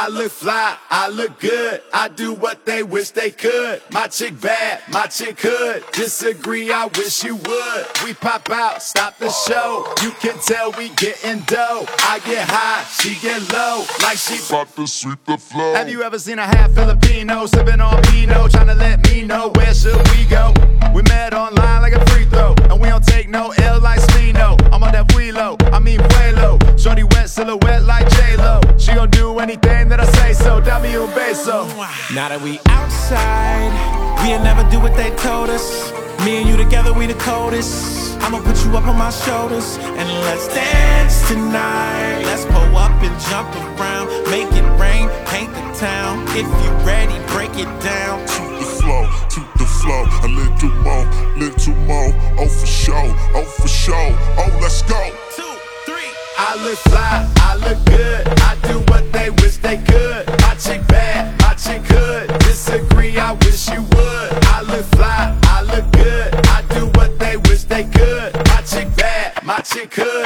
I look fly, I look good, I do what they wish they could. My chick bad, my chick could. Disagree, I wish you would. We pop out, stop the show. You can tell we getting dough. I get high, she get low, like she about to sweep the floor. Have you ever seen a half Filipino sipping on Pinot, trying to let me know where should we go? We met online like a free throw, and we don't take no L like Spino. I'm on that Vuelo, I mean Vuelo. Shorty wet silhouette like J-Lo. She gon' do anything that I say so. Dame un beso. Now that we outside, we'll never do what they told us. Me and you together, we the coldest. I'ma put you up on my shoulders and let's dance tonight. Let's pull up and jump around, make it rain, paint the town. If you ready, break it down. To the flow, a little more, oh for sure, oh let's go. 2, 3. I look fly, I look good, I do what they wish they could. My chick bad, my chick could. Disagree, I wish you would. I look fly, I look good, I do what they wish they could. My chick bad, my chick could.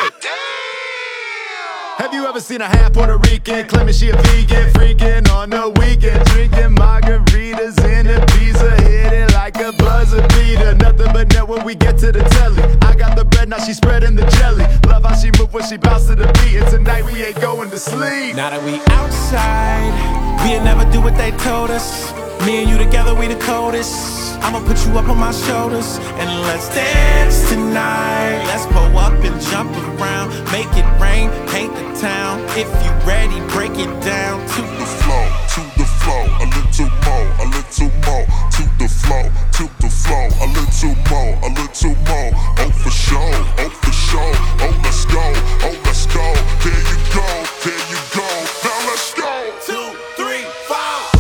Have you ever seen a half Puerto Rican claiming she a vegan, freaking on the weekend, drinking margaritas in Ibiza, hitting like a buzzer beater. Nothing but net when we get to the telly. I got the bread, now she spreading the jelly. Love how she move when she bounce to the beat. And tonight we ain't going to sleep. Now that we outside, we'll never do what they told us. Me and you together, we the coldest. I'ma put you up on my shoulders and let's dance tonight. Let's pull up and jump around, make it rain, paint the town. If you ready, break it down. To the flow, a little more, to the flow, a little more, oh for sure, oh let's go, there you go, now let's go. 2, 3, 4.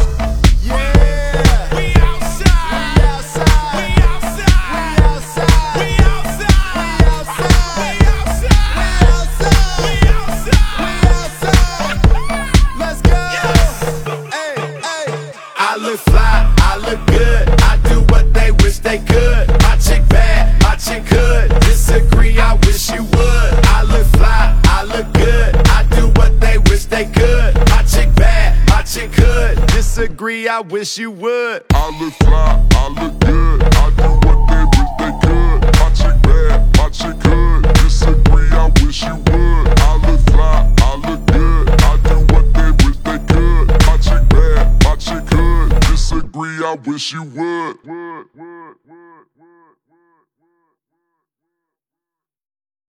I look fly, I look good, I do what they wish they could. My chick bad, my chick could. Disagree, I wish you would. I look fly, I look good, I do what they wish they could. My chick bad, my chick could. Disagree, I wish you would. I look fly, I look good, I do what they wish they could. My chick bad, my chick could. Disagree, I wish you would. I look fly, I look good, I do what they wish they could. My chick bad, my chick could. Disagree, I wish you would.